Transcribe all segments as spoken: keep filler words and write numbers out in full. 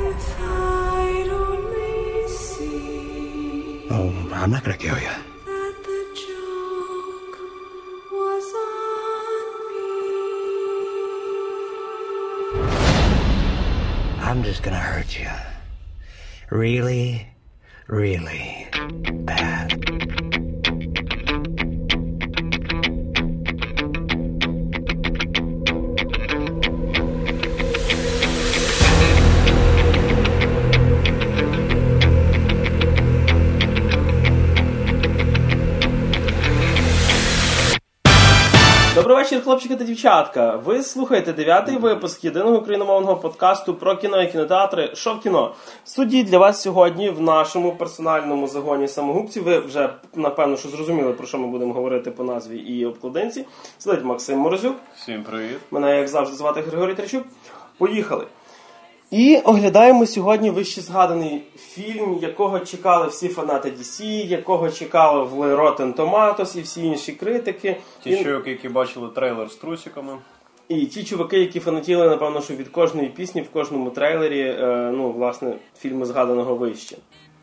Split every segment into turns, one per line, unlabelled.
Oh, I'm not gonna kill you. I'm just gonna hurt you. Really, really bad.
Добрий вечір, хлопчики та дівчатка. Ви слухаєте дев'ятий випуск єдиного україномовного подкасту про кіно і кінотеатри «Що в кіно?». В студії для вас сьогодні в нашому персональному загоні самогубців. Ви вже, напевно, що зрозуміли, про що ми будемо говорити по назві і обкладинці. Сидить Максим Морозюк.
Всім привіт.
Мене, як завжди, звати Григорій Тричук. Поїхали. І оглядаємо сьогодні вище згаданий фільм, якого чекали всі фанати ді сі, якого чекали в Rotten Tomatoes і всі інші критики.
Ті
Він...
чуваки, які бачили трейлер з трусиками.
І ті чуваки, які фанатіли, напевно, що від кожної пісні в кожному трейлері, ну, власне, фільму згаданого вище.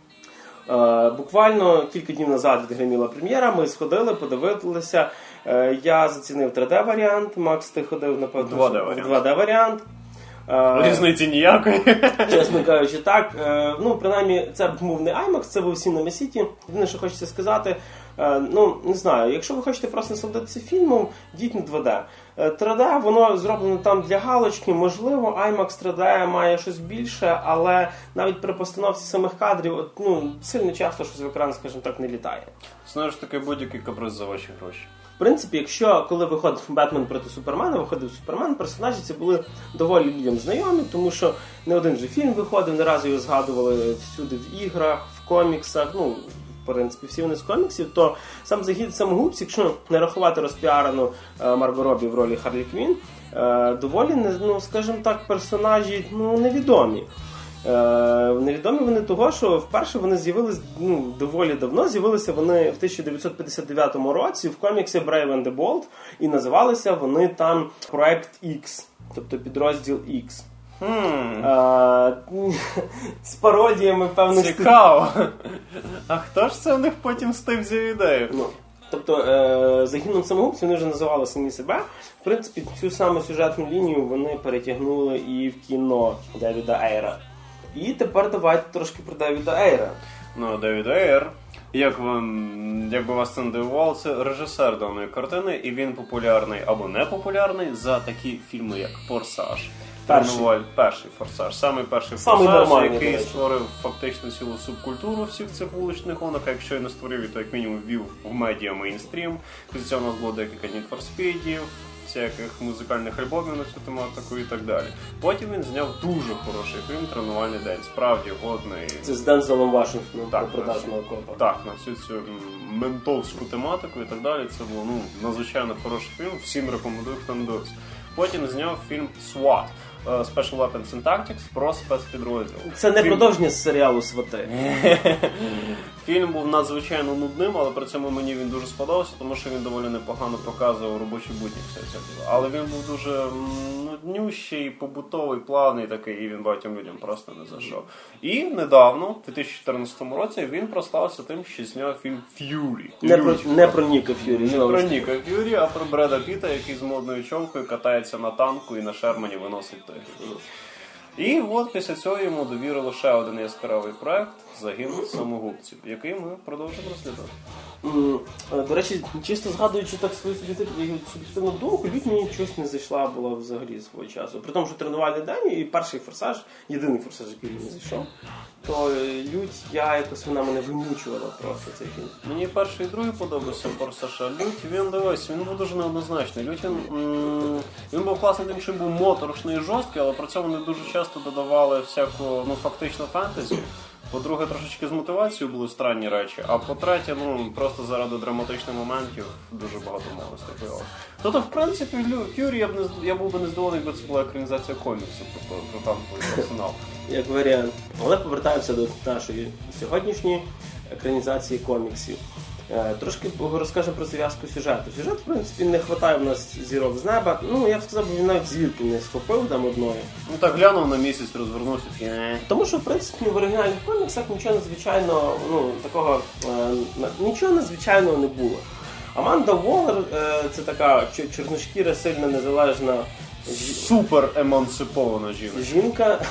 Буквально кілька днів назад відгриміла прем'єра, ми сходили, подивилися. Я зацінив три де-варіант, Макс, ти ходив, напевно, в два де-варіант.
Різниці ніякої.
Чесно кажучи, так. Ну, принаймні, це був не IMAX, це був Cinema City. Єдине, що хочеться сказати, ну, не знаю, якщо ви хочете просто насолодитися фільмом, йдіть на два де. три де, воно зроблено там для галочки, можливо, IMAX три де має щось більше, але навіть при постановці самих кадрів, от, ну, сильно часто щось в екран, скажімо так, не літає.
Знаєш, таке будь-який каприз за ваші гроші.
В принципі, якщо коли виходив Бетмен проти Супермена, виходив Супермен, персонажі ці були доволі людям знайомі, тому що не один же фільм виходив, не раз його згадували всюди в іграх, в коміксах, ну, в принципі, всі вони з коміксів, то сам загід самогубців, якщо не рахувати розпіарену Марго Робі в ролі Харлі Квін, доволі, ну, скажімо так, персонажі, ну, невідомі. Е, невідомі вони того, що вперше вони з'явилися, ну, доволі давно, з'явилися вони в тисяча дев'ятсот п'ятдесят дев'ятому році в коміксі Brave and the Bold, і називалися вони там Проект X, тобто підрозділ X.
Hmm.
Е, з пародіями певних...
Цікаво! А хто ж це в них потім з тим взяв ідею?
Ну, тобто, е, загином самогубців вони вже називали самі себе. В принципі, цю саму сюжетну лінію вони перетягнули і в кіно Девіда Ейра. І тепер давайте трошки про Девіда Ейра.
Ну, Девід Ейр, як, вам, як би вас це не дивувало, це режисер даної картини, і він популярний або не популярний за такі фільми, як «Форсаж».
Перший.
Перший «Форсаж». Самий перший
Самий
«Форсаж», який створив фактично цілу субкультуру всіх цих вуличних гонок, а якщо і не створив, то як мінімум ввів в медіа мейнстрім. Після цього у нас було декілька Need for Speed'ів, всяких музикальних альбомів на цю тематику і так далі. Потім він зняв дуже хороший фільм «Тренувальний день», справді годний.
Це з Дензелом Вашингтоном,
так,
про продажного копа.
Так, на всю цю ментовську тематику і так далі. Це був, ну, надзвичайно хороший фільм, всім рекомендую, хто не дивився. Потім зняв фільм «Сват» Special Weapons and Tactics про спецпідрозділ.
Це не фільм... продовження з серіалу «Свати».
Фільм був надзвичайно нудним, але при цьому мені він дуже сподобався, тому що він доволі непогано показував робочі будні все це. Але він був дуже нуднющий, побутовий, плавний такий, і він багатьом людям просто не зайшов. І недавно, в дві тисячі чотирнадцятому році, він прославився тим, що зняв фільм «Ф'юрі».
Не про, не про Ніка Ф'юрі.
Не про Ніка Ф'юрі, а про Бреда Піта, який з модною чомкою катається на танку і на Шермані виносить той. І от після цього йому довірили ще один яскравий проект «Загін самогубців», який ми продовжимо розглядати.
Mm, до речі, чисто згадуючи так свою суб'єктивну думку, Лють мені щось не зайшла була взагалі свого часу. При тому, що «Тренувальний день» і перший «Форсаж», єдиний «Форсаж», який мені зайшов, то Лють, я якось, вона мене вимучувала просто цей фільм.
Мені перший і другий подобався «Форсаж», а Лють, він, дивись, він був дуже неоднозначний. Лють, він, м- він був класний тим, що був моторошний і жорсткий, але при цьому вони дуже часто додавали всяку, ну, фактично фентезі. По-друге, трошечки з мотивацією були странні речі, а по-третє, ну, просто заради драматичних моментів дуже багато мовностей появилося. Тобто, в принципі, Ф'юрі я б не, я був би не здивований, якби це була екранізація коміксів про, про танковий персонал.
Як варіант. Але повертаємося до нашої сьогоднішньої екранізації коміксів. Трошки розкажемо про зв'язку сюжету. Сюжет, в принципі, не вистачає в нас зірок з неба. Ну, я б сказав, він навіть зірки не схопив там одної.
Ну так глянув на місяць, розвернувся.
Тому що, в принципі, в оригінальних коміксах нічого надзвичайного, ну, такого, е, нічого надзвичайного не було. Аманда Воллер е, це така чорношкіра, сильно незалежна
супер емансипована жінка.
Жінка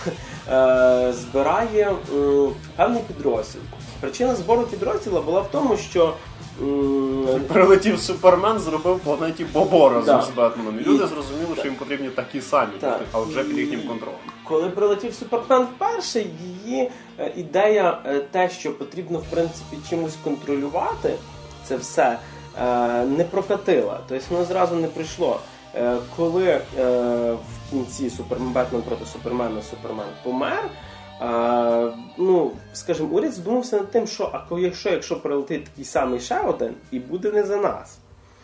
е, збирає е, певний підрозділ. Причина збору підрозділу була в тому, що
м- прилетів Супермен, зробив планеті Бобо разом
да.
з Бетменом. І люди зрозуміли, що їм потрібні такі самі,
так.
але вже під їхнім контролем.
Коли прилетів Супермен вперше, її е, ідея, е, те, що потрібно в принципі чимось контролювати, це все, е, не прокатила. Тобто воно зразу не прийшло. Е, коли е, в кінці Супермен, Бетмен проти Супермена Супермен помер, А, ну, скажімо, уряд задумався над тим, що а якщо, якщо прилетить такий самий ще один, і буде не за нас.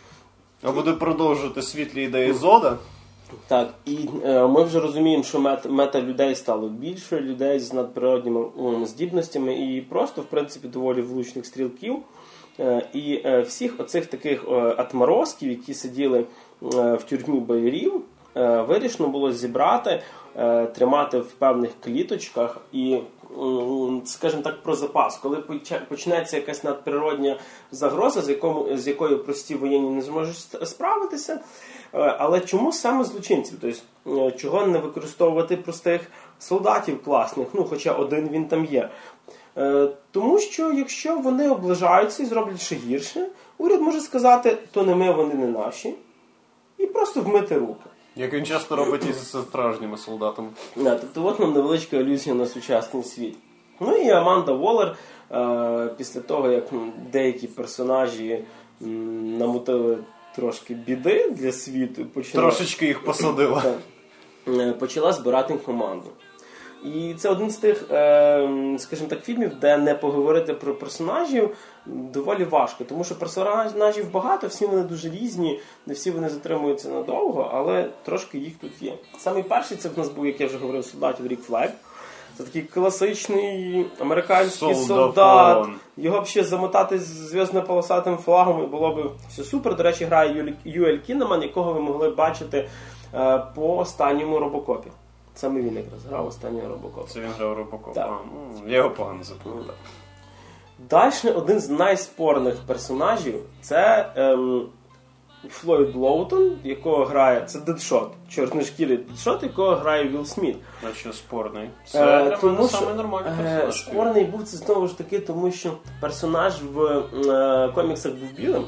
А буде продовжувати світлі ідеї Зода?
Так, і е, ми вже розуміємо, що мета, мета людей стало більше, людей з надприродніми um, здібностями і просто, в принципі, доволі влучних стрілків. Е, і е, всіх оцих таких е, атморозків, які сиділи е, в тюрмі боярів, е, вирішено було зібрати, тримати в певних кліточках і, скажімо так, про запас. Коли почнеться якась надприродня загроза, з, якому, з якою прості воєнні не зможуть справитися, але чому саме злочинців? Тобто, чого не використовувати простих солдатів класних, ну, хоча один він там є. Тому що, якщо вони облажаються і зроблять ще гірше, уряд може сказати, то не ми, вони не наші, і просто вмити руки.
Як він часто робить із справжніми солдатами.
Да, тобто от нам невеличка алюзія на сучасний світ. Ну і Аманда Воллер, е, після того, як деякі персонажі м, намутили трошки біди для світу, почала,
трошечки їх посадила.
Е, почала збирати команду. І це один з тих, е, скажімо так, фільмів, де не поговорити про персонажів доволі важко. Тому що персонажів багато, всі вони дуже різні, не всі вони затримуються надовго, але трошки їх тут є. Самий перший це в нас був, як я вже говорив, солдатів Рік Флег. Це такий класичний американський
Солдафон.
солдат. Його б ще замотати з зв'язно-полосатим флагом і було б все супер. До речі, грає Юель Кінеман, якого ви могли бачити е, по останньому Робокопі. Саме він якраз грав останнього Робокопа.
Це він грав Робокопа.
Так.
Ну, я його погано запам'ятав.
Далі один з найспорних персонажів це ем, Флойд Лоутон, якого грає, це Дедшот, чорношкірий Дедшот, якого грає Вілл Сміт.
Значить, спорний. Це е, для мене саме нормальний персонаж.
Е, спорний був це знову ж таки, тому що персонаж в е, коміксах був білим.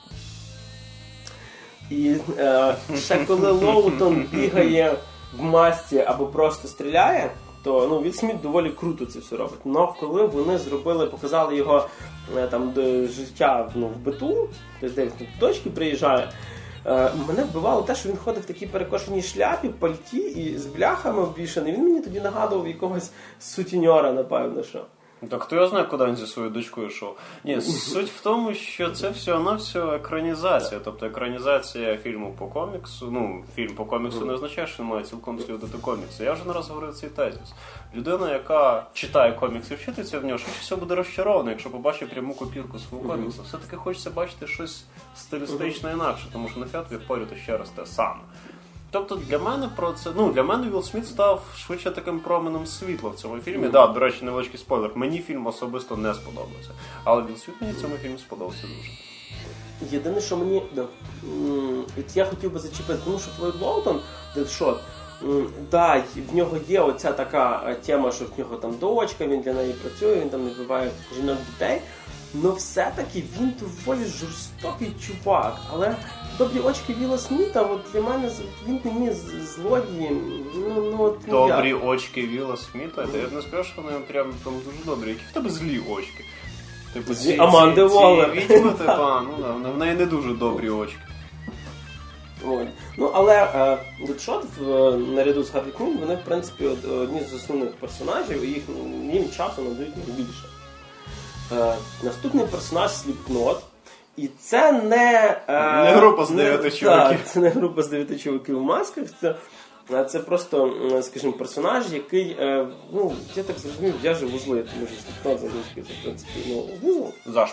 І е, ще коли Лоутон бігає в масці або просто стріляє, то ну, Вілл Сміт доволі круто це все робить. Но коли вони зробили, показали його там до життя ну, в биту, тобто де він в точки приїжджає, е, мене вбивало те, що він ходив в такій перекошеній шляпі, пальті і з бляхами обвішаний. Він мені тоді нагадував якогось сутіньора, напевно, що.
Так хто я знає, куди він зі своєю дочкою йшов? Ні, суть в тому, що це всього-навсього екранізація. Тобто екранізація фільму по коміксу. Ну, фільм по коміксу не означає, що має цілком слідувати комікси. Я вже не раз говорив цей тезис. Людина, яка читає комікси, вчиться в нього, швидше всього буде розчарована, якщо побачить пряму копірку свого коміксу. Все-таки хочеться бачити щось стилістично інакше, тому що нафіг тобі впорювати ще раз те саме. Тобто для мене про це, ну, для мене Вілл Сміт став швидше таким променем світла в цьому фільмі. Так, mm-hmm. да, до речі, невеличкий спойлер. Мені фільм особисто не сподобався. Але Вілл Сміт мені в цьому фільмі сподобався дуже.
Єдине, що мені, да, я хотів би зачепити, тому що Флойд Лоутон, Дедшот, да, в нього є оця така тема, що в нього там дочка, він для неї працює, він там не вбиває жінок, дітей. Но все-таки він доволі жорстокий чувак. Але добрі очки Вілла Сміта, от для мене він мені злодієм. Ну, ну, от, ну,
добрі
я.
очки Вілла Сміта? Та я б не скажу, що вони прям там дуже добрі. Які в тебе злі очки? Типу, ці,
Аманди Воллер.
Ці відьми, типа, ну да, в неї не дуже добрі очки.
Ой. Ну, але Дедшот наряду з Гарлі Квін, вони, в принципі, одні з основних персонажів, і їх, їм часу надають найбільше. Е, наступний персонаж Сліпкнот. І це не... Е,
не група з дев'яти чуваків.
Так, це не група з дев'яти чуваків в масках. Це, це просто, скажімо, персонаж, який, е, ну, я так зрозумів, в'яже вузли. Тому що Сліпкнот завжди, це, в принципі, ну, вузол.
Зашмах.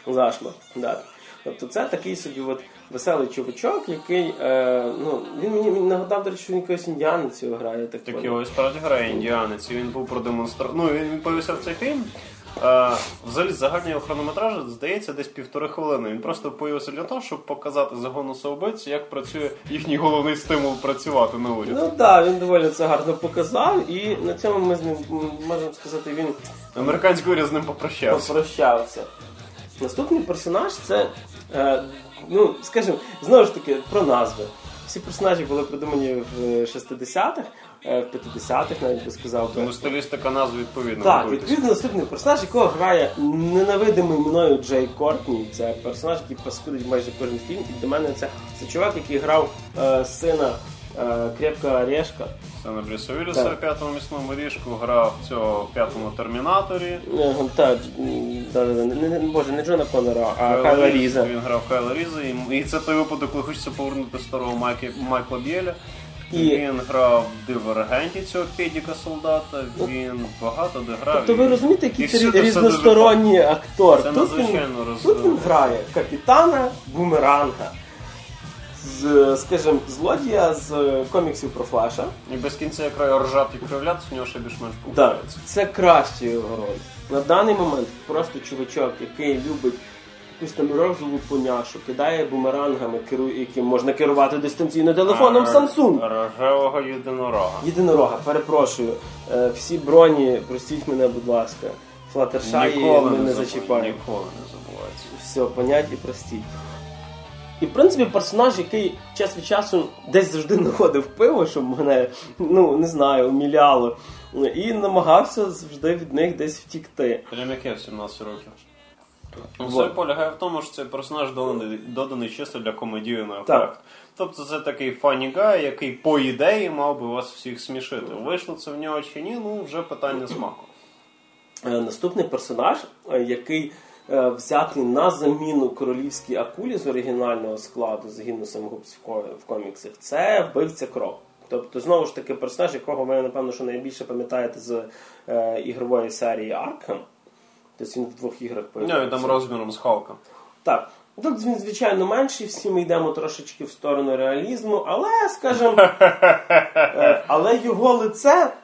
Зашмар, да. Тобто це такий собі от веселий чувачок, який, е, ну, він мені він нагадав, до речі, що він якийсь індіанець його грає. Так,
так його і справді грає індіанець, і він був продемонстрований. Ну, він повісив цей фільм. Е, взагалі, загальний його хронометраж, здається, десь півтори хвилини. Він просто появився для того, щоб показати загону самоубивців, як працює їхній головний стимул працювати на уряд.
Ну так, да, він доволі це гарно показав, і на цьому ми з ним, можемо сказати, він...
Американський уряд з ним попрощався.
Попрощався. Наступний персонаж це, е, ну, скажімо, знову ж таки, про назви. Всі персонажі були придумані в шістдесятих, е, в п'ятдесятих, навіть би сказав.
Тому стилістика назв відповідно.
Так, відповідно, наступний персонаж, якого грає ненавидимий мною Джей Кортні. Це персонаж, який паскудить майже кожен фільм. І для мене це, це чувак, який грав е, сина е, Крепкого Орешка.
Сина Брюса Вілліса в п'ятому місному ріжку, грав в цього п'ятому Термінаторі.
Е, так, да, да, не, не, боже, не Джона Коннора, а Кайла Різа.
Він грав Кайла Різа, і, і це той випадок, коли хочеться повернути старого Майкла, Майкла Б'єля. І... Він грав в Дивергенті цього педіка-солдата, він багато де грав.
Тобто ви розумієте, який це
всюди
різносторонній
дуже...
актор.
Це
тут, він,
роз...
тут він грає капітана Бумеранга, з, скажімо, злодія з коміксів про Флеша.
І без кінця якрай ржати і кривлятися, в нього ще більш-менш
Так,
получається.
це краще його роль. На даний момент просто чувачок, який любить якусь там розову поняшу, кидає бумерангами, керує, яким можна керувати дистанційно телефоном Samsung.
Рожевого єдинорога.
Єдинорога, перепрошую. Е, всі броні, простіть мене, будь ласка. Флаттершаї ми не, не зачіпаємо.
Ніколи не забувається.
Все, понять і простіть. І, в принципі, персонаж, який час від часу десь завжди знаходив пиво, щоб мене, ну, не знаю, уміляло. І намагався завжди від них десь втікти.
Прям як я в сімнадцять років. Ну, все полягає в тому, що цей персонаж доданий, доданий чисто для комедійного ефекту. Тобто це такий фанні гай, який по ідеї мав би вас всіх смішити. Вийшло це в нього чи ні, ну вже питання смаку.
Наступний персонаж, який взятий на заміну королівській акулі з оригінального складу загину самогубців в коміксах, це вбивця Кров. Тобто, знову ж таки, персонаж, якого ви, напевно, що найбільше пам'ятаєте з е, ігрової серії Arkham. Тобто він в двох іграх появився.
Не, він там розміром з Халка.
Так. Тут він, звичайно, менший, всі ми йдемо трошечки в сторону реалізму, але, скажімо, е, але його лице...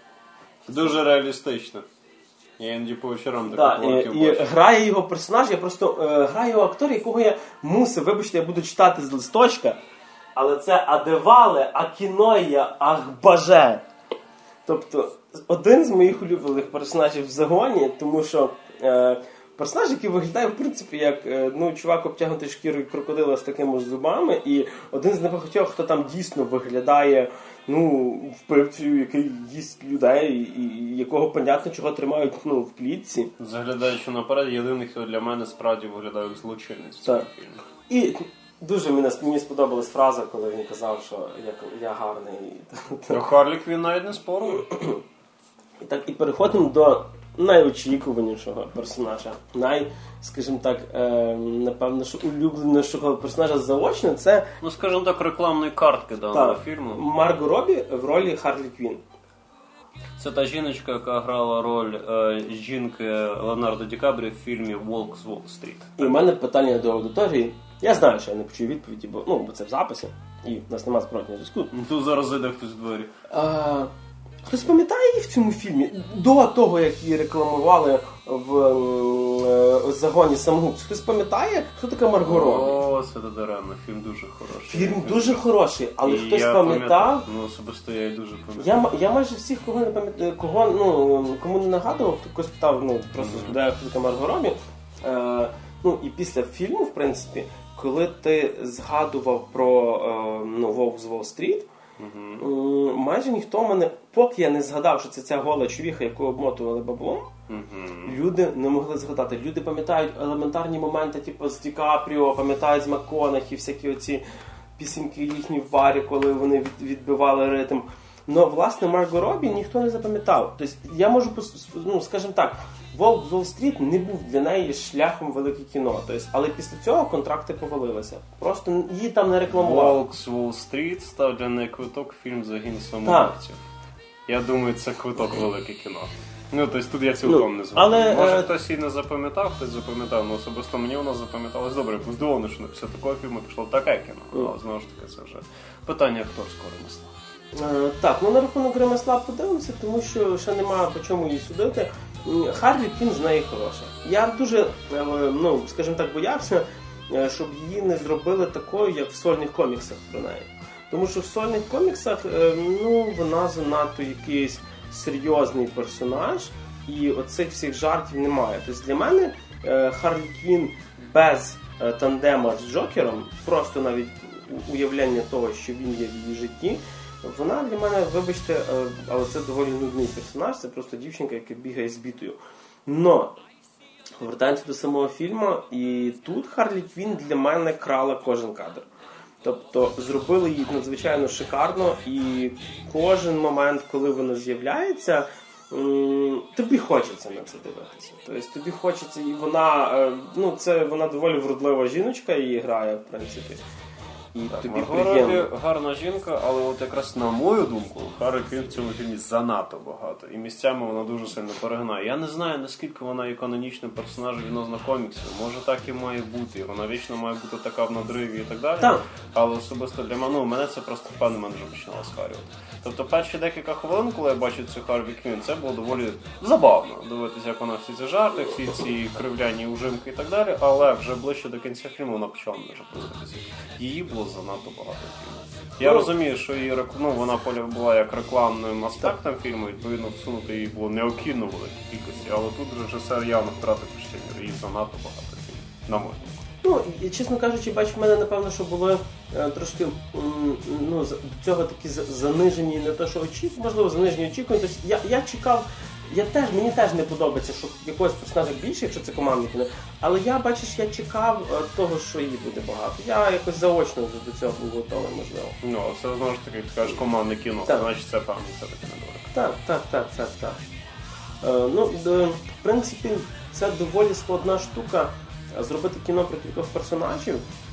Дуже реалістично. Я іноді по вечорам
да,
таку
і, і грає його персонаж, я просто е, граю його актор, якого я мусив, вибачте, я буду читати з листочка, але це Адевале Акіноя Ахбаже. Тобто, один з моїх улюблених персонажів в загоні, тому що е, персонаж, який виглядає, в принципі, як е, ну, чувак обтягнутий шкірою крокодила з такими ж зубами, і один з небагатьох, хто там дійсно виглядає, ну, вбивцею, який їсть людей, і, і якого, понятно, чого тримають, ну, в клітці.
Заглядаючи наперед, єдиний, хто для мене справді виглядає як злочинець в цьому фільмі.
І дуже мені, мені сподобалась фраза, коли він казав, що я, я гарний.
Ну, Харлік він навіть не спорив.
І так, і переходимо до найочікуванішого персонажа. Най, скажімо так, е, напевно, що улюбленішого персонажа заочно, це...
Ну, скажімо так, рекламної картки даного
та,
фільму.
Марго Робі в ролі Харлі Квін.
Це та жіночка, яка грала роль е, жінки Леонардо Ді Капріо в фільмі «Волк з Уолл-стріт».
І в мене питання до аудиторії. Я знаю, що я не почую відповіді, бо, ну, бо це в записі, і в нас немає зворотнього зв'язку.
Тут зараз зайде хтось в двері.
А, хтось пам'ятає її в цьому фільмі? До того, як її рекламували в е, загоні самогубців. Хтось пам'ятає, хто така Марго Робі?
О, це даремно. Фільм дуже хороший.
Фільм дуже хороший, але
І
хтось
я
пам'ятав?
Ну, особисто я і дуже пам'ятаю.
Я, я майже всіх, кого не пам'ятаю, кого, ну, кому не нагадував, хто когось питав, ну, просто
Mm-hmm.
де хто така Марго Робі. Е, ну, і після фільму, в принципі, коли ти згадував про е, ну, «Вовк з Уолл-стріт»,
Mm-hmm.
майже ніхто мене, поки я не згадав, що це ця гола човіха, яку обмотували баблом,
Mm-hmm.
люди не могли згадати. Люди пам'ятають елементарні моменти, типу з Ді Капріо, пам'ятають з МакКонахі, всякі оці пісеньки їхні в барі, коли вони від, відбивали ритм. Но, власне, Марго Робі ніхто не запам'ятав. Тобто, я можу, ну, скажімо так, «Волк з Уолл-стріт» не був для неї шляхом велике кіно. Тобто, але після цього контракти повалилися. Просто її там не рекламували.
«Волк з Уолл-стріт» став для неї квиток фільм «Загін самогубців». Я думаю, це квиток велике кіно. Ну, тобто тут я цілком
Ну,
не згоден.
але,
Може
е,
хтось і не запам'ятав, хтось запам'ятав, але особисто мені вона запам'яталась добре. Я був здивований, що після такого фільму пішло таке кіно. Але знову ж таки, це вже питання акторського ремесла.
Е, Так, ну на рахунок ремесла подивимося, тому що ще немає по чому її судити. М, Харлі Квінн з неї хороша. Я дуже, е, ну, скажімо так, боявся, е, щоб її не зробили такою, як в сольних коміксах про неї. Тому що в сольних коміксах, е, ну, вона занадто якийсь серйозний персонаж, і оцих всіх жартів немає. Тобто для мене е, Харлі Квінн без е, тандема з Джокером, просто навіть у- уявлення того, що він є в її житті, вона для мене, вибачте, е, але це доволі нудний персонаж, це просто дівчинка, яка бігає з бітою. Но повертаємося до самого фільму, і тут Харлі Квінн для мене крала кожен кадр. Тобто зробили її надзвичайно шикарно, і кожен момент, коли вона з'являється, м, тобі хочеться на це дивитися. Тобто тобі хочеться, і вона, е, ну це вона доволі вродлива жіночка, її грає, в принципі. І
Так,
тобі
Марго
приємно.
Робі гарна жінка, але от якраз на мою думку, Харлі Квінн в цьому фільмі занадто багато. І місцями вона дуже сильно перегинає. Я не знаю, наскільки вона є канонічним персонажем відносно коміксів. Може так і має бути. Вона вічно має бути така в надриві і так далі.
Так.
Але особисто для мене, ну, мене це просто в певний момент вже починало схарювати. Тобто перші декілька хвилин, коли я бачив цю Харлі Квінн, це було доволі забавно дивитися, як вона всі ці жарти, всі ці кривляні ужимки і так далі, але вже ближче до кінця фільму вона почала мене вже пускатися. Її було занадто багато фільму. Я
Ну,
розумію, що її рек- ну, вона поля була як рекламним аспектом фільму, відповідно всунути її було необхідно в великій кількості, але тут режисер явно втратив почтення, її занадто багато фільмів, на мою думку.
Ну, і, чесно кажучи, бач, в мене, напевно, що були е, трошки м, ну, з- до цього такі за- занижені, не те, що очікування, можливо, занижені очікування. Тобто я, я чекав, я теж, мені теж не подобається, що якогось персонажа більше, якщо це командне кіно. Але я, бачиш, я чекав е, того, що її буде багато. Я якось заочно вже до цього був готовий, можливо.
Ну, це знову ж таки, ти кажеш, командне кіно,
Так.
значить це певно, це таки недолік.
Так, так, так, так, так. Е, ну, д- в принципі, це доволі складна штука е, зробити кіно про кількох персонажів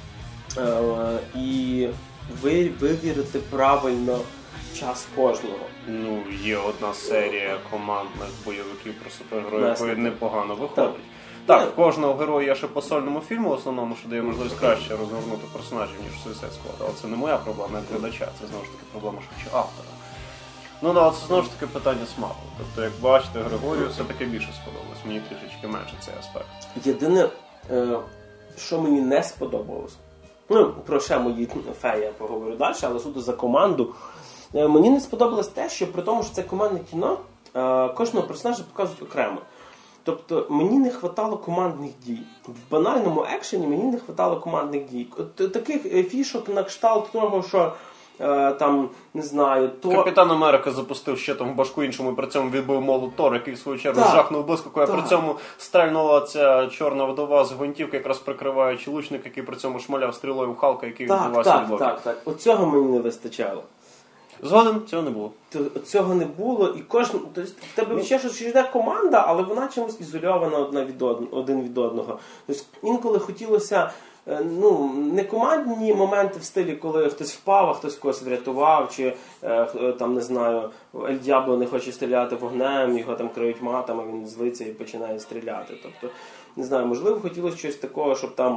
е, і ви, вивірити правильно час кожного.
Ну, є одна серія командних бойовиків про супергероїв,
Власне,
яка
так.
непогано виходить.
Так.
Так, в кожного героя є ще по сольному фільму, в основному, що дає можливість краще розгорнути персонажів, ніж Suicide Squad. Але це не моя проблема, як глядача, це знову ж таки проблема швидше автора. Ну да, це знову ж таки питання смаку. Тобто, як бачите, Григорію все-таки більше сподобалось, мені трішечки менше цей аспект.
Єдине, е, що мені не сподобалось, ну, про ще мої феї я поговорю далі, але суто за команду. Е, мені не сподобалось те, що при тому, що це командне кіно, е, кожного персонажа показують окремо. Тобто мені не вистачало командних дій. В банальному екшені мені не вистачало командних дій. От таких е, фішок на кшталт того, що е, там, не знаю, то...
Капітан Америка запустив ще там в башку іншому і при цьому відбив молот Тор, який в свою чергу
Так.
жахнув блискавкою, а
Так.
при цьому стрельнула ця чорна вдова з гвинтівки, якраз прикриваючи лучник, який при цьому шмаляв стрілою в Халка, який
Так,
відбивався
так,
від блоки.
так, так. От цього мені не вистачало.
Згоден, цього не було.
То цього не було, і кожен, тобто в тебе ще щось йде команда, але вона чимось ізольована одна від од... один від одного. Тобто інколи хотілося е, ну, не командні моменти в стилі, коли хтось впав, а хтось когось врятував, чи е, там, не знаю, Ель Д'ябло не хоче стріляти вогнем, його там криють матами, він злиться і починає стріляти. Тобто, не знаю, можливо, хотілося щось такого, щоб там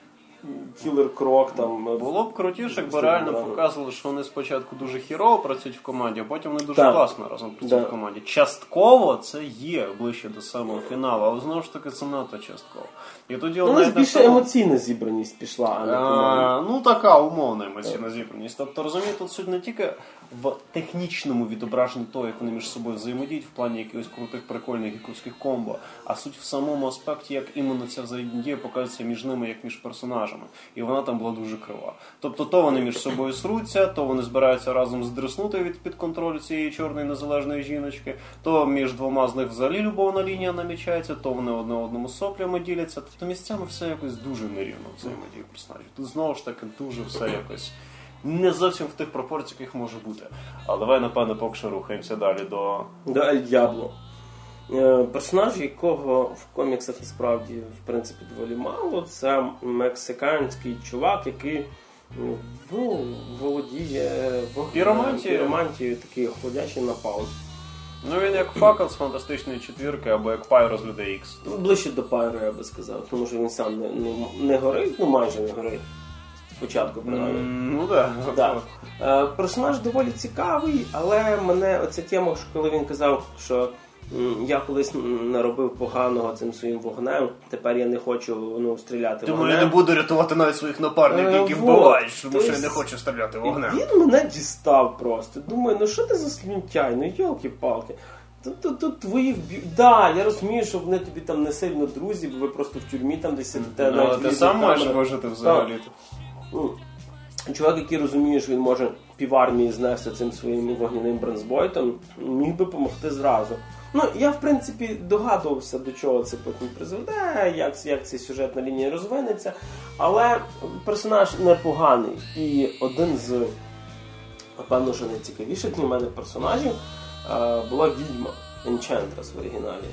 Кілер Крок там...
Було б крутіше, якби
Стиль,
реально
да.
показували, що вони спочатку дуже хірово працюють в команді, а потім вони дуже
Так.
класно разом працюють
Да.
в команді. Частково це є ближче до самого фіналу, але знову ж таки це надто частково. І тоді
Ну, у нас більше емоційна зібраність пішла, а не командна.
А, ну, така умовна емоційна зібраність. Тобто, розумієте, тут суть не тільки в технічному відображенні того, як вони між собою взаємодіють в плані якихось крутих, прикольних гіковських комбо, а суть в самому аспекті, як іменно ця взаємодія показується між ними, як між персонажами. І вона там була дуже крива. Тобто, то вони між собою сруться, то вони збираються разом здриснути від під контролю цієї чорної незалежної жіночки, то між двома з них взагалі любовна лінія намічається, то вони одне одному соплями діляться. Тобто місцями все якось дуже нерівно взаємодії персонажів. Тут знову ж таки дуже все якось не зовсім в тих пропорціях, яких може бути. Але давай, напевно, поки що рухаємося далі до...
До Ель Д'ябло. Е, Персонаж, якого в коміксах насправді в принципі доволі мало, це мексиканський чувак, який ну, володіє вогнем,
Піромантією.
піромантією, такий охолодячий напал.
Ну він як Факел з Фантастичної четвірки або як Пайро з Людей Ікс.
Ну, ближче до Пайро, я би сказав, тому що він сам не, ну, не горить, ну майже не горить. Спочатку, принаймні.
Mm, ну да.
Да. Е, персонаж доволі цікавий, але мене оця тема, коли він казав, що м, я колись наробив поганого цим своїм вогнем, тепер я не хочу ну, стріляти
Тому
вогнем.
я не буду рятувати навіть своїх напарників,
Е,
які
вот.
вбивають, тому
Тобто
що я не хочу стріляти вогнем.
Він мене дістав просто. Думаю, ну що ти за слюнтяй, ну йолки-палки. Тут, тут, тут твоїх б'ють. Да, я розумію, що вони тобі там не сильно друзі, бо ви просто в тюрмі там десь сидите.
Ну, але ти сам можеш вижити взагалі-то.
Ну, чувак, який розуміє, що він може півармії знести цим своїм вогняним бронзбойтом, міг би допомогти зразу. Ну, я, в принципі, догадувався, до чого це потім призведе, як, як ця сюжетна лінія розвинеться, але персонаж непоганий. І один з, напевно, що найцікавіших для мене персонажів е, була відьма Енчантрес в оригіналі.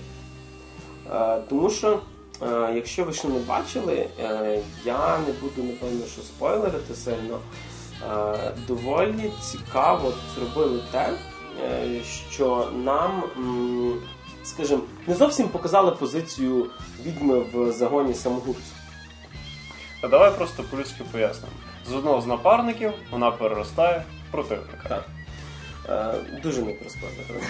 Е, тому що Е, якщо ви ще не бачили, е, я не буду, напевно, що спойлерити сильно. Е, доволі цікаво зробили те, е, що нам, м, скажімо, не зовсім показали позицію відьми в загоні самогубців.
А давай просто по-людськи пояснимо. З одного з напарників вона переростає в противника.
Так. Е, дуже не про спойлер.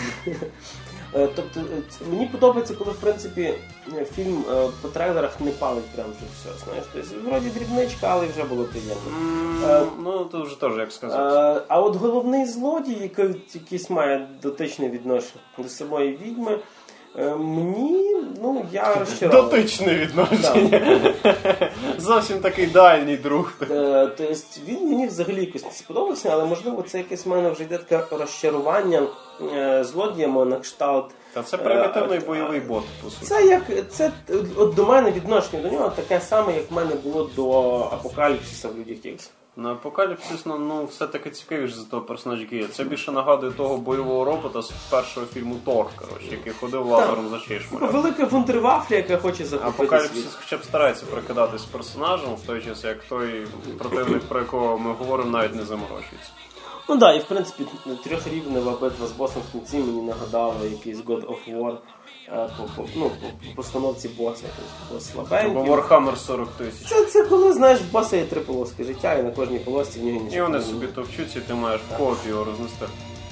Е, тобто, е, мені подобається, коли, в принципі, фільм е, по трейлерах не палить прям вже все, знаєш. Тобто, вроді дрібничка, але вже було приємно.
Mm,
Е,
ну, то вже теж, як сказати.
Е, а от головний злодій, який якийсь має дотичне відношення до самої відьми, е, мені, ну, я розчарований.
Дотичне відношення. Зовсім такий дальній друг.
Е, тобто, він мені взагалі якось не сподобався, але, можливо, це якесь в мене вже йде таке розчарування е, злодіями на кшталт.
Та це примітивний бойовий бот, по суті.
Це як, це, от до мене відношення до нього таке саме, як в мене було до Апокаліпсиса в Людях Ікс.
На Апокаліпсис, ну, ну все-таки цікавіше за того персонажа, який є. Це більше нагадує того бойового робота з першого фільму Тор, коротше, який ходив лазером за чешмарем.
Велика вундервафля, яка хоче захопити світ.
Апокаліпсис хоча б старається прикидатись персонажем, в той час, як той противник, про якого ми говоримо, навіть не заморочується.
Ну так, да, і в принципі трьохрівнева битва з босом в кінці мені нагадала якийсь God of War по, по, ну, по, по постановці боса. Тобто бос слабенький.
Або Warhammer сорок тисяч.
Це, це коли, знаєш, в боса є три полоски життя, і на кожній полосці в нього нічого.
І вони собі товчуться, і ти маєш в коопі його рознести.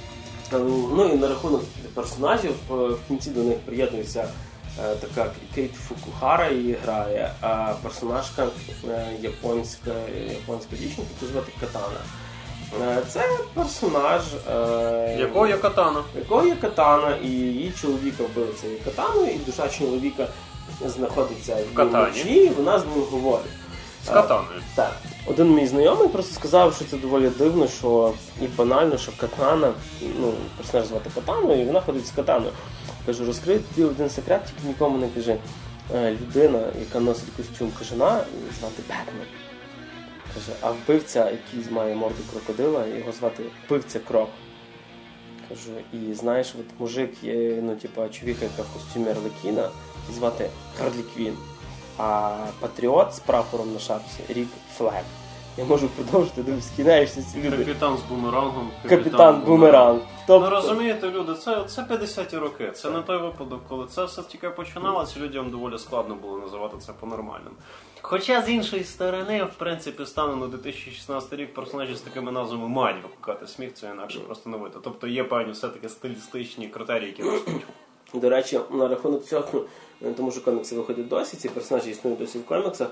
Ну і на рахунок персонажів, в кінці до них приєднується е, така Кейт Фукухара, її грає, а персонажка е, японська, японська дівчинка, яку звати Катана. Е, це персонаж, е,
Якого є катана?
якого є Катана, і її чоловіка вбили цією катаною, і душа чоловіка знаходиться в
Катані.
і вона з ним говорить.
З катаною.
Е, так. Один мій знайомий просто сказав, що це доволі дивно, що і банально, що Катана, ну, персонаж звати Катаною, і вона ходить з Катаною. Кажу, розкрий тобі один секрет, тільки нікому не кажи. Е, людина, яка носить костюм кажана, звати Бетмен. Каже, а вбивця, який має морду крокодила, його звати вбивця Крок. Кажу, і знаєш, от мужик є, ну, типа, чоловіка, яка в костюмі Арлекіна, і звати Харлі Квін. А патріот з прапором на шапці Рік Флег. Я можу продовжити, де скидаєшся ці люди.
Капітан з бумерангом.
Капітан, Капітан Бумеранг.
Тобто... Ну розумієте, люди, це, це п'ятдесяті роки. Це не той випадок, коли це все тільки починалося, людям доволі складно було називати це по-нормальному. Хоча з іншої сторони, в принципі, станом на дві тисячі шістнадцятий рік персонажі з такими назвами мають викликати сміх, це інакше просто не вийде. Тобто є певні все-таки стилістичні критерії, які ростуть.
До речі, на рахунок цього, тому що комікси виходять досі, ці персонажі існують досі в коміксах.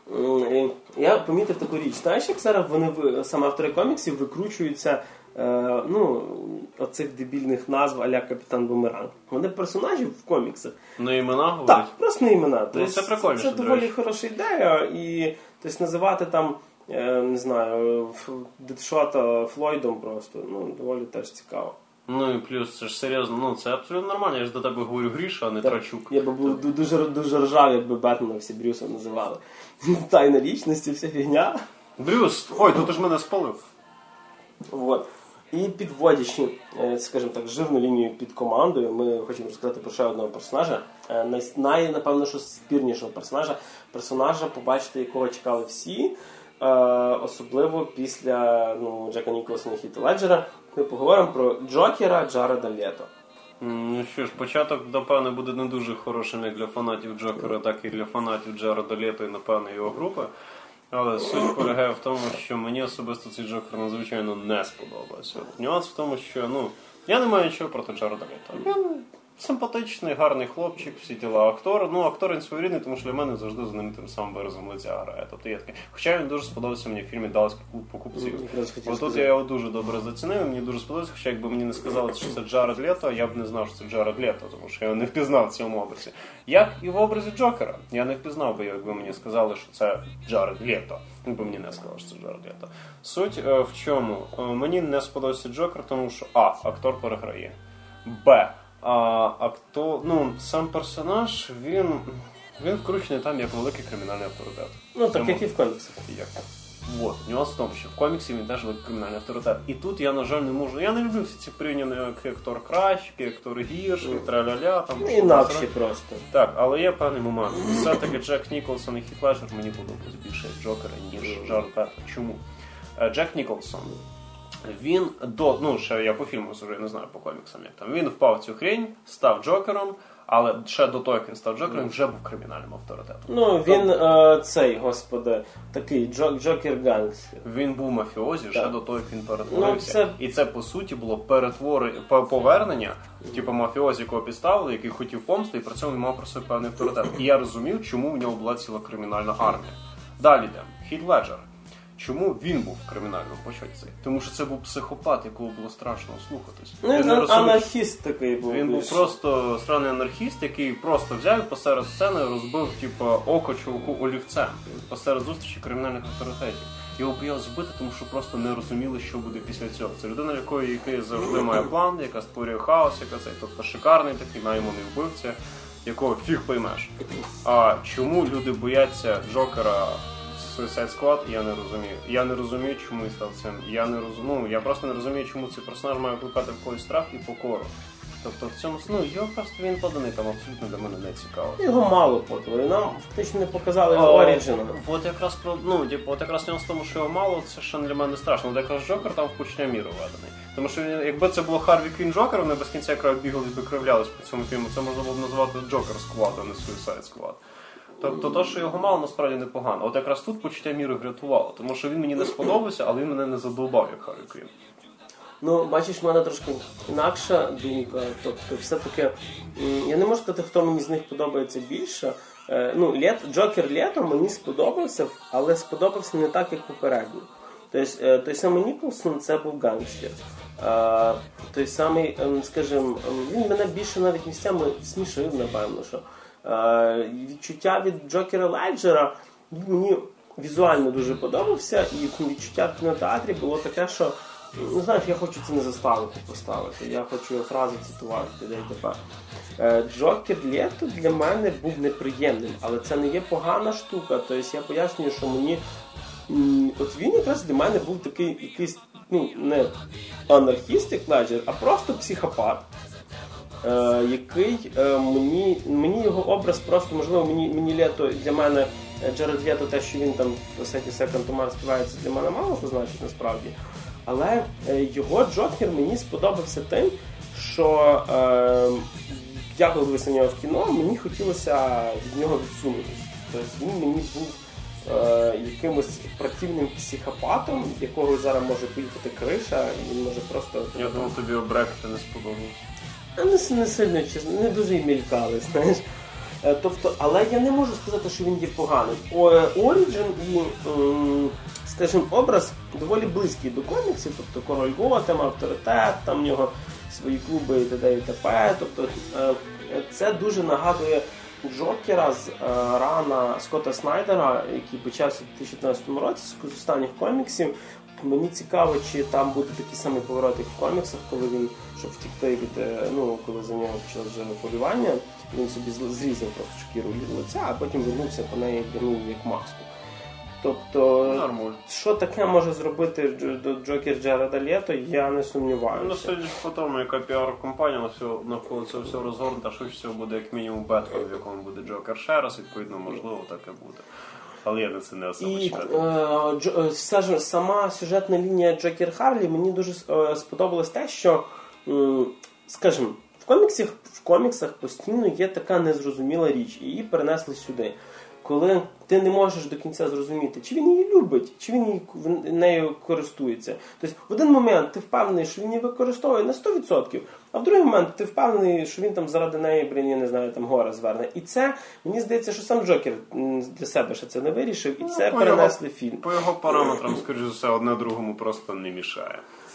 Я помітив таку річ. Знаєш, як зараз вони, саме автори коміксів, викручуються е, ну, оцих дебільних назв а-ля Капітан Бумеранг. Вони персонажі в коміксах.
На імена говорять?
Так, просто на імена.
Ну,
тобто,
це прикольно.
Це, це доволі хороша ідея. І тобто, називати там, е, не знаю, Дедшота Флойдом просто, ну, доволі теж цікаво.
Ну і плюс, це ж серйозно, ну це абсолютно нормально, я ж до тебе говорю Гріша, а не
так,
Трачук.
Я би був дуже, дуже ржав, якби Бетмена всі Брюсом називали. Тайна лічності, вся фігня.
Брюс, ой, тут ж мене спалив.
Вот. І підводячи, скажімо так, жирну лінію під командою, ми хочемо розказати про ще одного персонажа. Най, най напевно, що спірнішого персонажа. Персонажа, побачити якого чекали всі. Особливо після ну, Джека Ніколсона і Хіта Леджера. Ми поговоримо про Джокера Джареда Лето.
Ну що ж, початок, напевне, буде не дуже хорошим як для фанатів Джокера, так і для фанатів Джареда Лето і, напевне, його групи. Але суть полягає в тому, що мені особисто цей Джокер надзвичайно не сподобався. Нюанс в тому, що, ну, я не маю нічого проти Джареда Лето. Він симпатичний, гарний хлопчик, всі тіла актор. Ну, актор він своєрідний, тому що для мене завжди знаменитим самим виразом лиця грає. Тобто є таке. Хоча він дуже сподобався мені в фільмі «Далласький клуб покупців». Ось тут я його дуже добре зацінив, мені дуже сподобався. Хоча якби мені не сказали, що це Джаред Лето, я б не знав, що це Джаред Лето, тому що я його не впізнав в цьому образі. Як і в образі Джокера. Я не впізнав би, якби мені сказали, що це Джаред Лето. Якби мені не сказали, що це Джаред Лето. Суть е, в чому? Е, мені не сподобався Джокер, тому що а. Актор переграє. Б. А актор, ну, сам персонаж, він, він вкручений там як великий кримінальний авторитет.
Ну, так як і в коміксах.
Як? Вот. Нюанс в тому, що в коміксі він теж великий кримінальний авторитет. І тут я, на жаль, не можу. Я не люблю всі ці порівняння, як актор кращий, як актор гірший, траля-ля. Там,
інакші просто.
Так, але є певний момент. Все-таки Джек Ніколсон і Хіт Леджер мені подобається більше Джокера, ніж Джаред Лето. Чому? Джек Ніколсон. Він до, ну, ще я по фільму вже не знаю, по коміксам як там. Він впав в цю хрень, став Джокером, але ще до того, як він став Джокером, вже був кримінальним авторитетом.
Ну, він е, цей, господи, такий Джокер-гангстер.
Він був мафіозі ще до того, як він перетворився.
Ну, це...
І це, по суті, було перетворення, повернення, типу мафіозі, якого підставили, який хотів помсти, і при цьому він мав про себе певний авторитет. І я розумів, чому в нього була ціла кримінальна армія. Далі йдемо. Хіт Леджер. Чому він був в кримінальному початці? Тому що це був психопат, якого було страшно слухатись.
Ну, він розумів, анархіст такий був.
Він був просто странний анархіст, який просто взяв і посеред сцени розбив типу, око чуваку олівцем. Посеред зустрічі кримінальних авторитетів. Його боялися збити, тому що просто не розуміли, що буде після цього. Це людина, якої який завжди має план, яка створює хаос, яка цей, тобто шикарний такий найманий вбивця, якого фіг поймеш. А чому люди бояться Джокера Suicide Squad, я не розумію. Я не розумію, чому він став цим. Я не розумію, ну, я просто не розумію, чому цей персонаж має викликати в когось страх і покору. Тобто в цьому, ну, його просто він поданий, там абсолютно для мене не цікаво.
Його мало подали, нам фактично не показали його оріджин.
От якраз про, ну, типу, от якраз в тому, що його мало, це ще для мене страшно. От якраз Джокер там в почуття міру введений. Тому що якби це було Харві Квін Джокер, вони без кінця якраз бігали і кривлялись по цьому фільму, це можна було б назвати Джокер Squad, а не Suicide Squad. Тобто то, що його мало, насправді непогано. От якраз тут почуття міри врятувало, тому що він мені не сподобався, але він мене не задовбав, як Харві Квін.
Ну, бачиш, в мене трошки інакша думка. Тобто, все-таки, я не можу сказати, хто мені з них подобається більше. Ну, Лет, Джокер Лето мені сподобався, але сподобався не так, як попередньо. Тобто, той самий Ніколсон, це був гангстер. Той самий, скажімо, він мене більше навіть місцями смішив, напевно, що. Відчуття від Джокера Леджера мені візуально дуже подобався, і відчуття в кінотеатрі було таке, що, ну знаєш, я хочу це не заставити поставити, я хочу фрази цитувати, де і тепер. Джокер Лето для мене був неприємним, але це не є погана штука, тобто я пояснюю, що мені, от він якраз для мене був такий якийсь, ну, не анархіст, як Леджер, а просто психопат. Е, який е, мені, мені його образ просто, можливо, мені, мені Лето, для мене Джаред Лето, те, що він там в Сеті Секонд Томар співається, для мене мало що значить насправді. Але е, його Джокер мені сподобався тим, що е, я коли дивився на нього в кіно, мені хотілося від нього відсунутися. Тобто він мені був е, якимось противним психопатом, якого зараз може поїхати криша, і він може просто...
Я думав, тобі обректи не сподобалось.
Не, не сильно, чесно, не дуже й мількали, знаєш. Тобто, але я не можу сказати, що він є поганий. Оріджин і, скажімо, образ доволі близький до коміксів, тобто Король Готэм, авторитет, там в нього свої клуби і т.д. і т.п. Тобто, це дуже нагадує Джокера з рана Скотта Снайдера, який почався у дві тисячі п'ятнадцятому році, з останніх коміксів. Мені цікаво, чи там буде такий самий поворот, як в коміксах, коли він, щоб втікти від, ну, коли за нього почалось вже полювання, він собі зрізав просто шкіру від лиця, а потім вернувся по неї, вдягнув як маску. Тобто,
нормально.
Що таке може зробити Джокер Джареда Лето, я не сумніваюся.
Ну, судячи по тому, яка піар-компанія навколо цього всього розгорнута, що всього буде як мінімум Бетмен, в якому буде Джокер ще раз, відповідно, можливо, таке буде. Але я на це не особо чекаю.
І е, сама сюжетна лінія Джокер Харлі мені дуже е, сподобалось те, що, е, скажімо, В коміксах, в коміксах постійно є така незрозуміла річ, і її перенесли сюди. Коли ти не можеш до кінця зрозуміти, чи він її любить, чи він її, нею користується. Тобто в один момент ти впевнений, що він її використовує на сто відсотків, а в другий момент ти впевнений, що він там заради неї, блін, я не знаю, там гора зверне. І це, мені здається, що сам Джокер для себе ще це не вирішив, і це ну, перенесли
його,
фільм.
По його параметрам, скоріш за все, одне другому просто не мішає.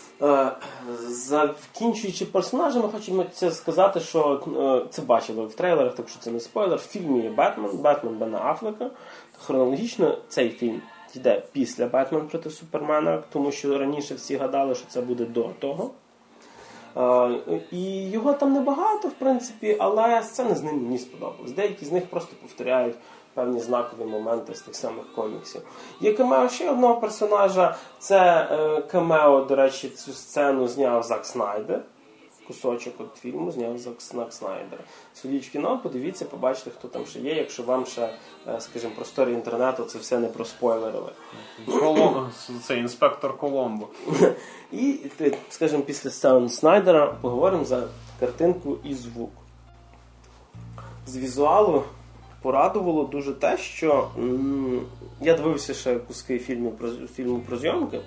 Закінчуючи персонажами, хочемо це сказати, що це бачили в трейлерах, так що це не спойлер. В фільмі є Бетмен, Бетмен Бена Аффлека. Хронологічно цей фільм йде після Бетмен проти Супермена, тому що раніше всі гадали, що це буде до того. І його там небагато, в принципі, але сцени з ним мені сподобались. Деякі з них просто повторяють певні знакові моменти з тих самих коміксів. Є камео ще одного персонажа. Це е, камео, до речі, цю сцену зняв Зак Снайдер. Кусочок від фільму зняв Зак Снайдер. Сходіть в кіно, подивіться, побачите, хто там ще є, якщо вам ще, е, скажімо, просторі інтернету це все не проспойлерили.
Коломбо, це інспектор Коломбо.
І, скажімо, після сцени Снайдера поговоримо за картинку і звук. З візуалу порадувало дуже те, що м- я дивився ще куски фільму про, фільму про зйомки,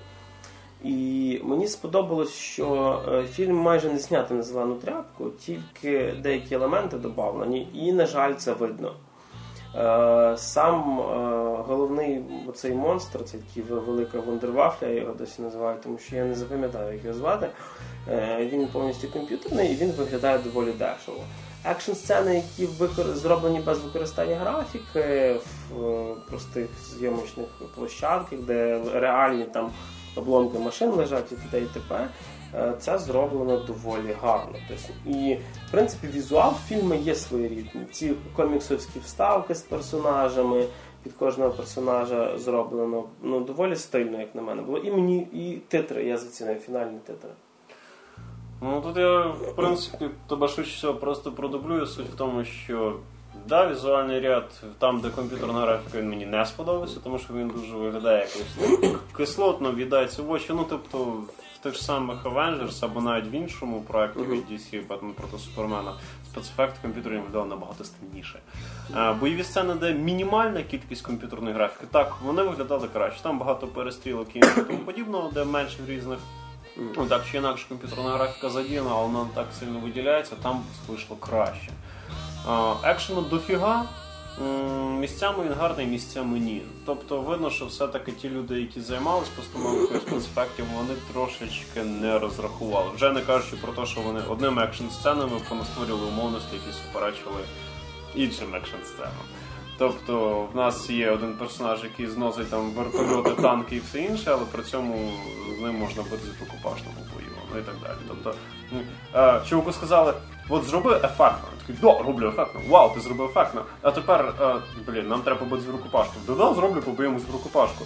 і мені сподобалось, що е, фільм майже не знятий на зелену тряпку, тільки деякі елементи додавлені, і, на жаль, це видно. Е, сам е, головний оцей монстр, це такий велика вундервафля, я його досі називаю, тому що я не запам'ятаю, як його звати. Е, він повністю комп'ютерний і він виглядає доволі дешево. Екшн-сцени, які викор... зроблені без використання графіки, в простих зйомочних площадках, де реальні там обломки машин лежать і т.д. і т.п., це зроблено доволі гарно. Тобто, і, в принципі, візуал фільму є своєрідний. Ці коміксовські вставки з персонажами, під кожного персонажа зроблено ну, доволі стильно, як на мене було. І мені, і титри, я зацінив, фінальні титри.
Ну, тут я, в принципі, тебе швидше всього просто продублюю. Суть в тому, що, да, візуальний ряд, там, де комп'ютерна графіка, він мені не сподобався, тому що він дуже виглядає якось кислотно, в'їдається в очі. Ну, тобто, в тих самих Avengers, або навіть в іншому проєкті від ді сі, Бетмен проти Супермена, спецефекти комп'ютерні виглядали набагато стильніше. Бойові сцени, де мінімальна кількість комп'ютерної графіки, так, вони виглядали краще. Там багато перестрілок і тому подібного, де менше різних. Ну, так чи інакше комп'ютерна графіка задіяна, але вона не так сильно виділяється, там вийшло краще. Екшену дофіга, місцями він гарний, місцями ні. Тобто видно, що все-таки ті люди, які займалися постановкою спецефектів, вони трошечки не розрахували. Вже не кажучи про те, що вони одними екшн-сценами понастворювали умовності, які суперечили іншим екшн-сценам. Тобто в нас є один персонаж, який зносить там вертольоти, танки і все інше, але при цьому з ним можна бути з рукопашному бою, ну і так далі. Тобто, е, чуваку сказали, от зроби ефектно. Я такий, да, роблю ефектно. Вау, ти зробив ефектно. А тепер, е, блін, нам треба побити з рукопашку. Да-да, зроблю, побиємось в рукопашку.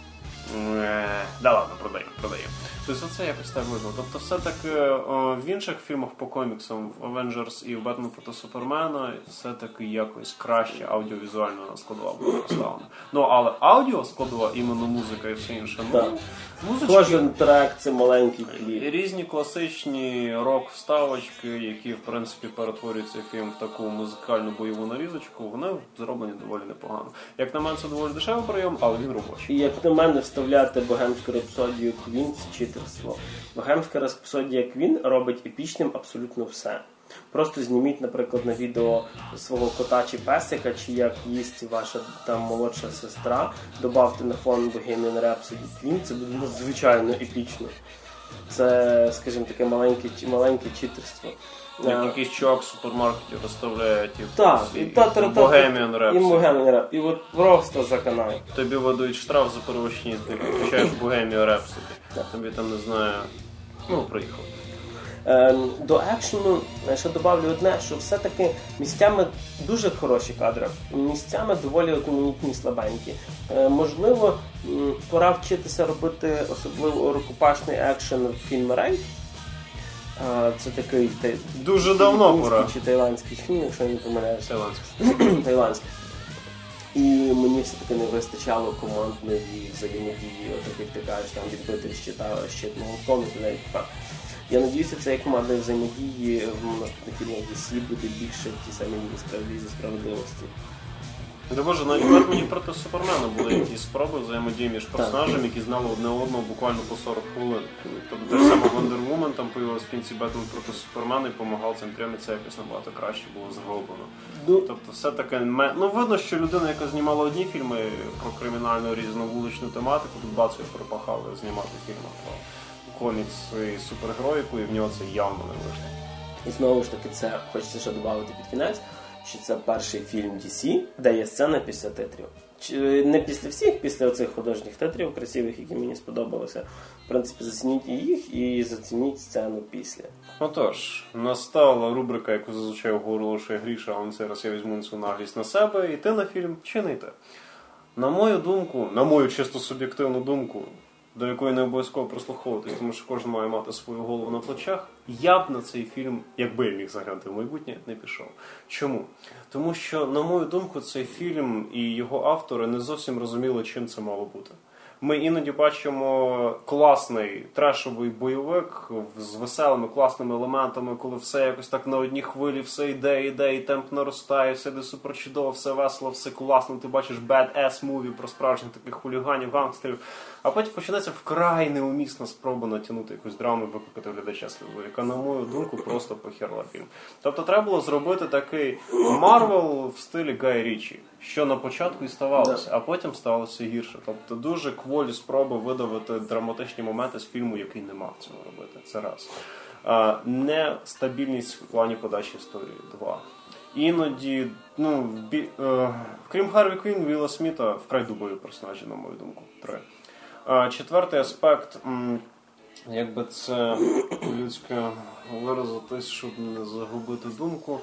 Е, да ладно, продаємо, продаємо. Тобто це якось так видно. Тобто все-таки о, в інших фільмах по коміксам, в Avengers і в Бетмен проти Супермена, все-таки якось краще аудіовізуальна складова була поставлена. Ну, але аудіо складова, іменно музика і все інше, ну,
музички... Кожен трек – це маленький кліп.
Різні класичні рок-вставочки, які, в принципі, перетворюють цей фільм в таку музикальну бойову нарізочку, вони зроблені доволі непогано. Як на мене, це доволі дешевий прийом, але він робочий.
І як на мене, вставляти богемську рапсодію Queen – це читерство. Богемська рапсодія Queen робить епічним абсолютно все. Просто зніміть, наприклад, на відео свого кота чи песика, чи як їсть ваша там молодша сестра, добавте на фон Bohemian Rhapsody Queen, це буде надзвичайно епічно. Це, скажімо, таке маленьке, маленьке читерство.
Як якийсь чувак в супермаркеті розставляє ті
Bohemian Rhapsody. І Bohemian Rhapsody. І от просто заканай.
Тобі видають штраф за перевищення, ти включаєш Bohemian Rhapsody. Тобі там, не знаю, ну, приїхав.
До екшену ще добавлю одне, що все-таки місцями дуже хороші кадри, місцями доволі одноманітні, слабенькі. Можливо, пора вчитися робити особливо рукопашний екшен в фільмі «Рейд». Це такий тай...
дуже давно пора.
Чи тайландський фільм, якщо я не помиляюся.
Тайландський.
Тайландський. І мені все-таки не вистачало командної взаємодії, от як ти кажеш, там відбити щит молотком і так. Я надіюся, цієї командної взаємодії в наступних фільмах ді сі буде більше в тій самій Лізі справедливості.
Да боже, навіть в Бетмені проти Супермена були якісь спроби взаємодії між персонажами, які знали одне одного буквально по сорок хвилин. Тобто те ж саме Wonder Woman там появилась в кінці Бетмен проти Супермена і допомагав цим трьом, і це якось набагато краще було зроблено. Тобто все таке... Ну, видно, що людина, яка знімала одні фільми про кримінальну різну вуличну тематику, тут бацю припахали знімати фільми про комікс і супергероїку, і в нього це явно не вийшло.
І знову ж таки, це хочеться ще додати під кінець, що це перший фільм ді сі, де є сцена після титрів. Не після всіх, після оцих художніх титрів красивих, які мені сподобалися. В принципі, зацініть їх і зацініть сцену після.
Отож, настала рубрика, яку зазвичай оголошує Гріша, але на цей раз я візьму цю наглість на себе. Йти на фільм чи не йти? На мою думку, на мою чисто суб'єктивну думку, до якої не обов'язково прослуховуватись, тому що кожен має мати свою голову на плечах, я б на цей фільм, якби я міг заглянути в майбутнє, не пішов. Чому? Тому що, на мою думку, цей фільм і його автори не зовсім розуміли, чим це мало бути. Ми іноді бачимо класний трешовий бойовик з веселими, класними елементами, коли все якось так на одній хвилі, все йде, йде, і темп наростає, все йде супер чудово, все весело, все класно, ти бачиш bad-ass movie про справжніх таких хуліганів, гангстерів, а потім починається вкрай неумісна спроба натягнути якусь драму і викликати глядача сльозу, яка, на мою думку, просто похерла фільм. Тобто треба було зробити такий Марвел в стилі Гая Річі, що на початку і ставалося, а потім сталося гірше. Тобто дуже кволі спроби видавити драматичні моменти з фільму, який не мав цього робити. Це раз. А, нестабільність в плані подачі історії. Два. Іноді, ну, бі, е, крім Харві Квін, Вілла Сміта вкрай дубові персонажі, на мою думку. Три. А, четвертий аспект, м, якби це людське виразитись, щоб не загубити думку.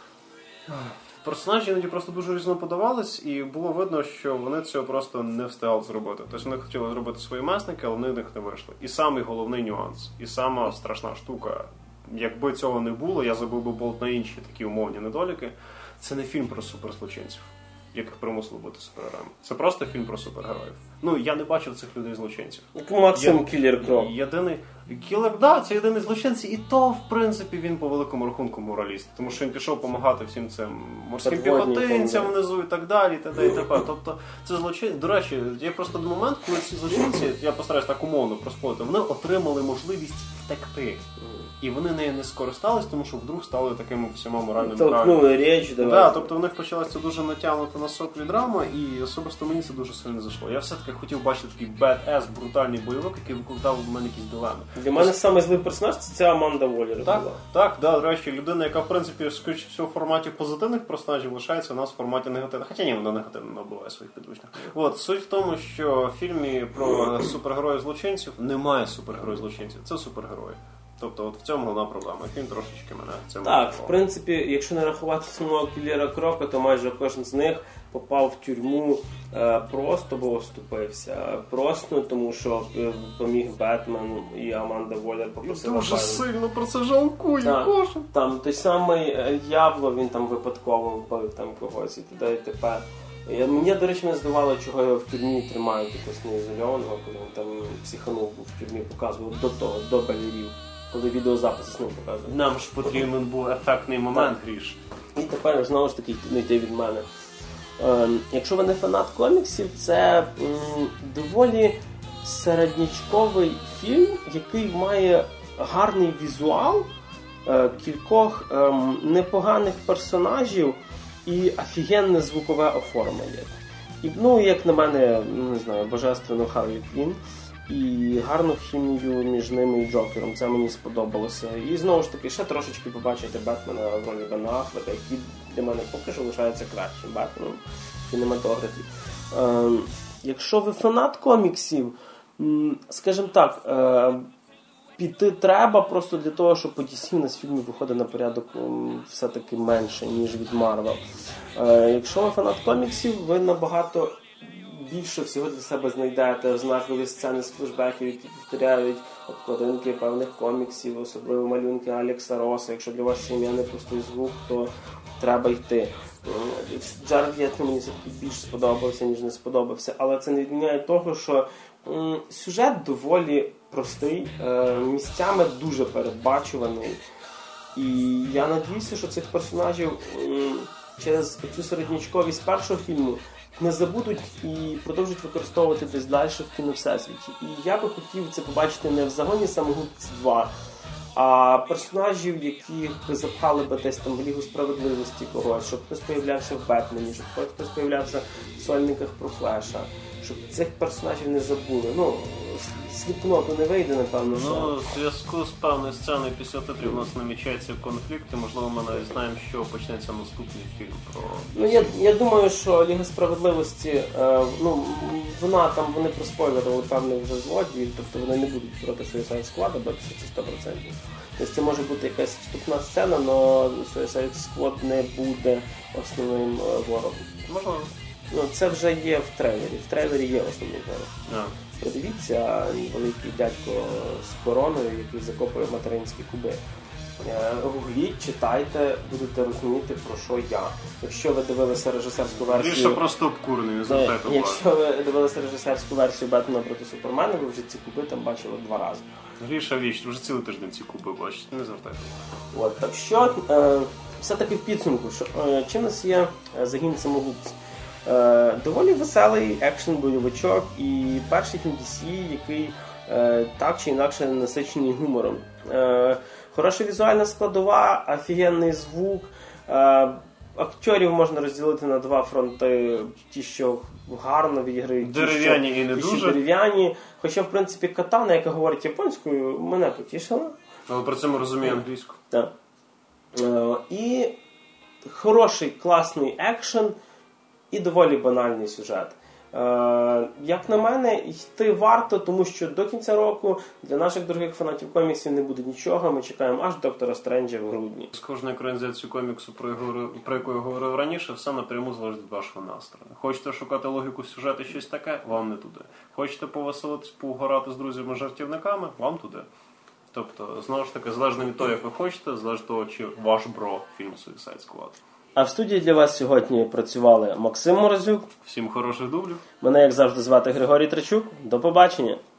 Персонажі іноді просто дуже різно подавались, і було видно, що вони цього просто не встигали зробити. Тобто вони хотіли зробити свої месники, але вони в них не вийшли. І самий головний нюанс, і сама страшна штука, якби цього не було, я забув би болт на інші такі умовні недоліки, це не фільм про суперзлочинців, яких примусили бути супергероями. Це просто фільм про супергероїв. Ну, я не бачив цих людей-злочинців.
Максим Кілер Кроп.
Єдиний... Кілер, да, це єдиний злочинці, і то, в принципі, він по великому рахунку мораліст. Тому що він пішов допомагати всім цим морським піхотинцям внизу і так далі, і т.д. і т.п. Тобто, це злочин... До речі, є просто один момент, коли ці злочинці, я постараюсь так умовно проспорити, вони отримали можливість втекти. І вони нею не скористались, тому що вдруг стали такими всіма моральними правилами.
Толкнули річ, давай.
Да, тобто в них почалася дуже натягнута на соплі драма, і особисто мені це дуже сильно зайшло. Я все-таки хотів бачити такий bad-ass, брутальний бойовик, який викликав у мене якісь дилеми.
Для мене самий злий персонаж – це ця Аманда Воллер.
Так, так, да, до речі, людина, яка, в принципі, скоріше всього, в форматі позитивних персонажів лишається, у нас в форматі негативних. Хоча ні, вона негативно набуває своїх підручних. От, суть в тому, що в фільмі про супергероїв-злочинців немає супергероїв-злочинців, це супергерої. Тобто от в цьому головна проблема. Фільм трошечки мене це
Так,
мотивував.
в принципі, якщо не рахувати самого Кілера Крока, то майже кожен з них попав в тюрму е, просто, бо оступився. Просто тому, що е, поміг Бетмен і Аманда Воллер попросила.
Дуже сильно про це жалкую, кожен.
Там той самий Д'ябло, він там випадково вбив там когось і т.д. і т.п. Мені, до речі, не здавало, чого його в тюрмі тримають якось неізольованого, коли він там психанув був в тюрмі, показував до того, до балерів. Коли відеозаписи з ним показують.
Нам ж потрібен був ефектний момент, Гріш.
І тепер, знову ж таки, не йти від мене. Е, якщо ви не фанат коміксів, це м, доволі середнячковий фільм, який має гарний візуал, е, кількох е, непоганих персонажів і офігенне звукове оформлення. І, ну, як на мене, не знаю, божественно Харлі Квін. І гарну хімію між ними і Джокером. Це мені сподобалося. І знову ж таки, ще трошечки побачити Бетмена в ролі Бена Аффлека, який для мене поки що лишається кращим Бетменом в кінематографі. Е, якщо ви фанат коміксів, скажімо так, е, піти треба просто для того, щоб по ді сі на фільмі виходить на порядок все-таки менше, ніж від Марвел. Е, якщо ви фанат коміксів, ви набагато більше всього для себе знайдете знакові сцени з флешбеків, які повторяють обкладинки певних коміксів, особливо малюнки Алекса Роса. Якщо для вас це ім'я не пустий звук, то треба йти. Джаред Лето мені все-таки більш сподобався, ніж не сподобався, але це не відміняє того, що м, сюжет доволі простий, е, місцями дуже передбачуваний. І я надіюся, що цих персонажів м, через цю середнячковість першого фільму не забудуть і продовжують використовувати десь далі в кіновсесвіті. І я би хотів це побачити не в загоні самогубці два, а персонажів, яких би запхали би десь там в Лігу справедливості когось, щоб хтось появлявся в Бетмені, щоб хтось появлявся в сольниках про Флеша, щоб цих персонажів не забули. Ну, Сліпкноту не вийде, напевно.
Ну,
що...
в зв'язку з певною сценою після титрів у нас намічається конфлікт, і, можливо, ми навіть знаємо, що почнеться наступний фільм про...
Ну, я, я думаю, що Ліга справедливості, е, ну, вона там, вони проспойлерили певних вже злодіїв, тобто вони не будуть проти Suicide Squad, бо це сто відсотків. Тобто це може бути якась вступна сцена, але Suicide Squad не буде основним е, ворогом.
Можливо.
Ну, це вже є в трейлері. В трейлері є основний ворог.
Yeah.
Подивіться, великий дядько з короною, який закопує материнські куби. Гугліть, читайте, будете розуміти, про що я. Якщо ви дивилися режисерську версію...
Більше просто обкурений, не звертайте увагу.
Якщо ви дивилися режисерську версію Бетмена проти Супермена, ви вже ці куби там бачили два рази.
Гріша віч, вже цілий тиждень ці куби бачите, не звертайте увагу.
От, так що, е, все-таки в підсумку, що, е, чим у нас є загін самогубців? Е, доволі веселий екшен-бойовичок і перший фільм ді сі, який е, так чи інакше насичений гумором. Е, хороша візуальна складова, офігенний звук. Е, акторів можна розділити на два фронти. Ті, що гарно відіграють,
дерев'яні
ті, що,
і не
ті,
дуже.
Що дерев'яні. Хоча, в принципі, Катана, яка говорить японською, мене потішила.
Але при цьому розуміє англійську.
Так. Е, і хороший, класний екшен. І доволі банальний сюжет. Е, як на мене, йти варто, тому що до кінця року для наших дорогих фанатів коміксів не буде нічого. Ми чекаємо аж Доктора Стренджа в грудні.
З кожної екранізації коміксу, про, його, про яку я говорив раніше, все напряму залежить від вашого настрою. Хочете шукати логіку сюжету і щось таке? Вам не туди. Хочете повеселитись, поугорати з друзями-жартівниками? Вам туди. Тобто, знову ж таки, залежно від того, як ви хочете, залежно від того, чи ваш бро фільм Suicide Squad.
А в студії для вас сьогодні працювали Максим Морозюк.
Всім хороших дублів.
Мене, як завжди, звати Григорій Трачук. До побачення.